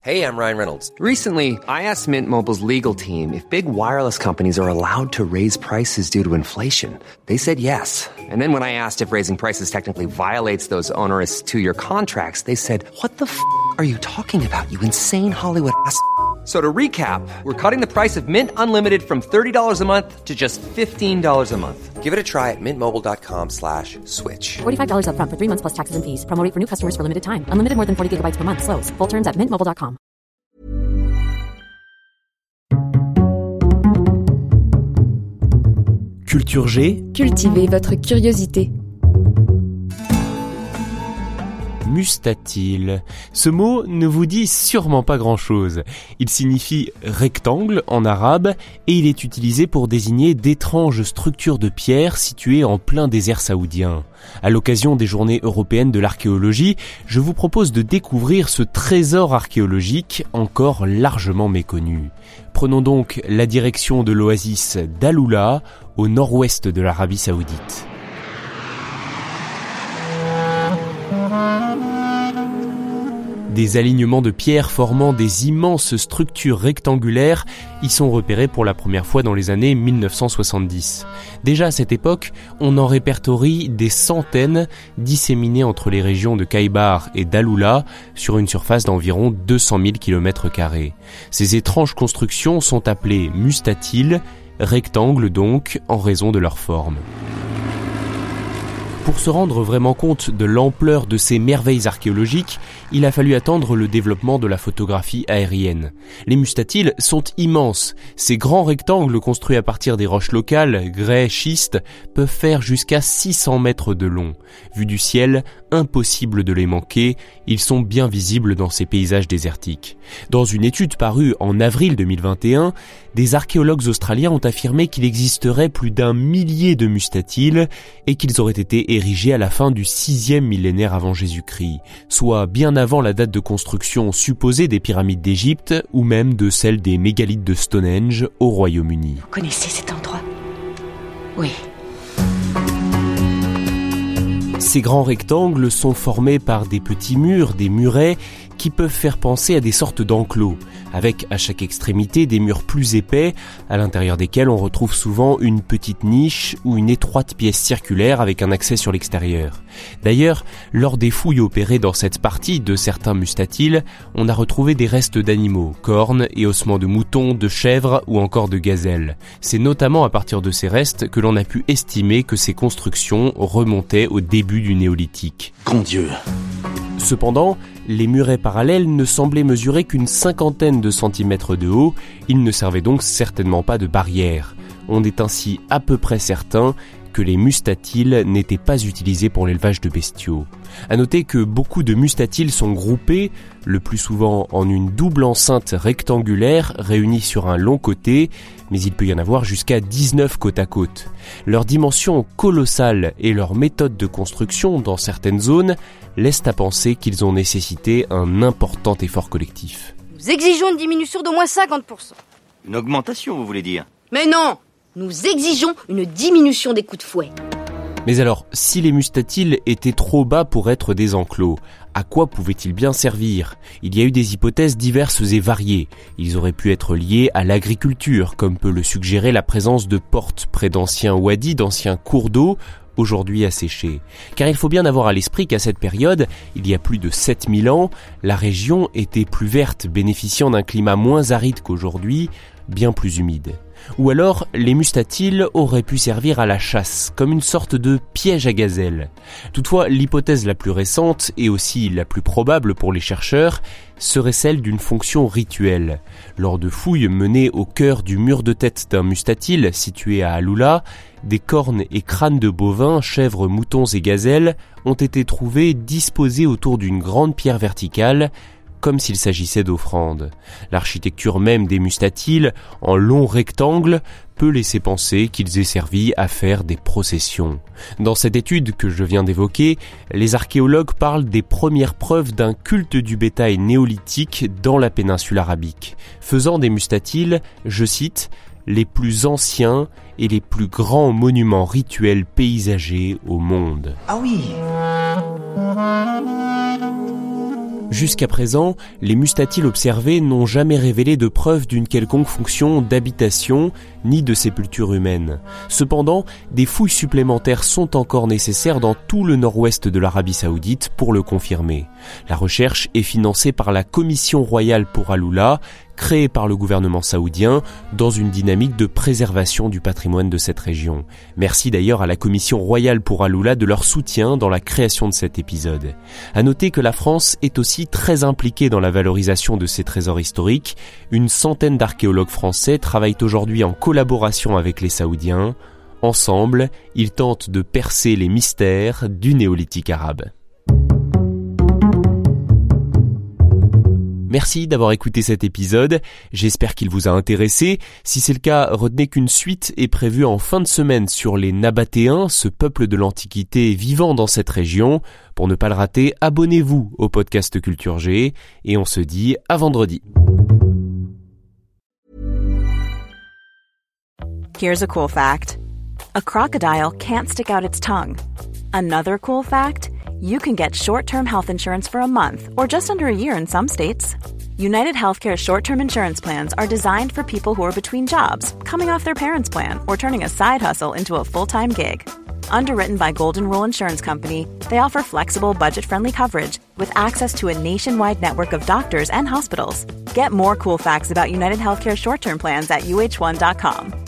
Hey, I'm Ryan Reynolds. Recently, I asked Mint Mobile's legal team if big wireless companies are allowed to raise prices due to inflation. They said yes. And then when I asked if raising prices technically violates those onerous two-year contracts, they said, "What the f*** are you talking about, you insane Hollywood ass?" So to recap, we're cutting the price of Mint Unlimited from $30 a month to just $15 a month. Give it a try at mintmobile.com/switch. $45 up front for 3 months plus taxes and fees. Promo rate for new customers for limited time. Unlimited more than 40 gigabytes per month. Slows full terms at mintmobile.com. Culture G. Cultivez votre curiosité. Mustatile. Ce mot ne vous dit sûrement pas grand-chose. Il signifie rectangle en arabe et il est utilisé pour désigner d'étranges structures de pierre situées en plein désert saoudien. À l'occasion des Journées européennes de l'archéologie, je vous propose de découvrir ce trésor archéologique encore largement méconnu. Prenons donc la direction de l'oasis d'Alula, au nord-ouest de l'Arabie saoudite. Des alignements de pierres formant des immenses structures rectangulaires y sont repérés pour la première fois dans les années 1970. Déjà à cette époque, on en répertorie des centaines disséminées entre les régions de Khybar et d'Alula sur une surface d'environ 200 000 km². Ces étranges constructions sont appelées mustatiles, rectangles donc en raison de leur forme. Pour se rendre vraiment compte de l'ampleur de ces merveilles archéologiques, il a fallu attendre le développement de la photographie aérienne. Les mustatiles sont immenses. Ces grands rectangles construits à partir des roches locales, grès, schistes, peuvent faire jusqu'à 600 mètres de long. Vu du ciel, impossible de les manquer, ils sont bien visibles dans ces paysages désertiques. Dans une étude parue en avril 2021, des archéologues australiens ont affirmé qu'il existerait plus d'1 millier de mustatiles et qu'ils auraient été érigés à la fin du 6e millénaire avant Jésus-Christ, soit bien avant la date de construction supposée des pyramides d'Égypte ou même de celle des mégalithes de Stonehenge au Royaume-Uni. Vous connaissez cet endroit ? Oui. Ces grands rectangles sont formés par des petits murs, des murets, qui peuvent faire penser à des sortes d'enclos, avec à chaque extrémité des murs plus épais, à l'intérieur desquels on retrouve souvent une petite niche ou une étroite pièce circulaire avec un accès sur l'extérieur. D'ailleurs, lors des fouilles opérées dans cette partie de certains mustatiles, on a retrouvé des restes d'animaux, cornes et ossements de moutons, de chèvres ou encore de gazelles. C'est notamment à partir de ces restes que l'on a pu estimer que ces constructions remontaient au début du néolithique. Grand Dieu! Cependant, les murets parallèles ne semblaient mesurer qu'une 50aine de centimètres de haut, ils ne servaient donc certainement pas de barrière. On est ainsi à peu près certain que les mustatiles n'étaient pas utilisés pour l'élevage de bestiaux. À noter que beaucoup de mustatiles sont groupés, le plus souvent en une double enceinte rectangulaire réunie sur un long côté, mais il peut y en avoir jusqu'à 19 côte à côte. Leur dimension colossale et leur méthode de construction dans certaines zones laissent à penser qu'ils ont nécessité un important effort collectif. Nous exigeons une diminution d'au moins 50%. Une augmentation, vous voulez dire ? Mais non! Nous exigeons une diminution des coups de fouet. Mais alors, si les mustatiles étaient trop bas pour être des enclos, à quoi pouvaient-ils bien servir ? Il y a eu des hypothèses diverses et variées. Ils auraient pu être liés à l'agriculture, comme peut le suggérer la présence de portes près d'anciens wadis, d'anciens cours d'eau, aujourd'hui asséchés. Car il faut bien avoir à l'esprit qu'à cette période, il y a plus de 7000 ans, la région était plus verte, bénéficiant d'un climat moins aride qu'aujourd'hui, bien plus humide. Ou alors, les mustatiles auraient pu servir à la chasse, comme une sorte de piège à gazelles. Toutefois, l'hypothèse la plus récente, et aussi la plus probable pour les chercheurs, serait celle d'une fonction rituelle. Lors de fouilles menées au cœur du mur de tête d'un mustatile situé à Alula, des cornes et crânes de bovins, chèvres, moutons et gazelles ont été trouvés disposés autour d'une grande pierre verticale, comme s'il s'agissait d'offrandes. L'architecture même des mustatiles, en longs rectangles, peut laisser penser qu'ils aient servi à faire des processions. Dans cette étude que je viens d'évoquer, les archéologues parlent des premières preuves d'un culte du bétail néolithique dans la péninsule arabique, faisant des mustatiles, je cite, les plus anciens et les plus grands monuments rituels paysagers au monde. Ah oui! Jusqu'à présent, les mustatiles observés n'ont jamais révélé de preuves d'une quelconque fonction d'habitation ni de sépulture humaine. Cependant, des fouilles supplémentaires sont encore nécessaires dans tout le nord-ouest de l'Arabie Saoudite pour le confirmer. La recherche est financée par la Commission royale pour Al-Ula, créée par le gouvernement saoudien dans une dynamique de préservation du patrimoine de cette région. Merci d'ailleurs à la Commission royale pour Al-Ula de leur soutien dans la création de cet épisode. À noter que la France est aussi très impliquée dans la valorisation de ces trésors historiques. Une centaine d'archéologues français travaillent aujourd'hui en collaboration avec les Saoudiens. Ensemble, ils tentent de percer les mystères du néolithique arabe. Merci d'avoir écouté cet épisode, j'espère qu'il vous a intéressé. Si c'est le cas, retenez qu'une suite est prévue en fin de semaine sur les Nabatéens, ce peuple de l'Antiquité vivant dans cette région. Pour ne pas le rater, abonnez-vous au podcast Culture G et on se dit à vendredi. Here's a cool fact. A crocodile can't stick out its tongue. Another cool fact, you can get short-term health insurance for a month or just under a year in some states. United Healthcare short-term insurance plans are designed for people who are between jobs, coming off their parents' plan, or turning a side hustle into a full-time gig. Underwritten by Golden Rule Insurance Company, they offer flexible, budget-friendly coverage with access to a nationwide network of doctors and hospitals. Get more cool facts about United Healthcare short-term plans at uh1.com.